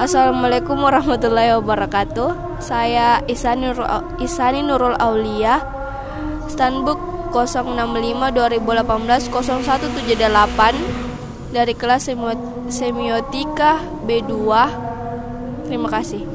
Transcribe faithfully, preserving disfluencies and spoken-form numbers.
Assalamualaikum warahmatullahi wabarakatuh. Saya Isani Nurul, Isani Nurul Aulia, Standbook nol enam lima dua ribu delapan belas nol satu tujuh delapan dari kelas Semiotika B dua. Terima kasih.